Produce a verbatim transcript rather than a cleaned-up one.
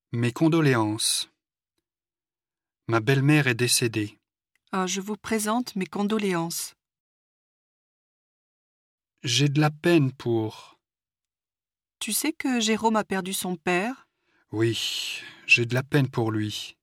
Mes condoléances. Ma belle-mère est décédée. Ah, je vous présente mes condoléances. J'ai de la peine pour... Tu sais que Jérôme a perdu son père? Oui, j'ai de la peine pour lui.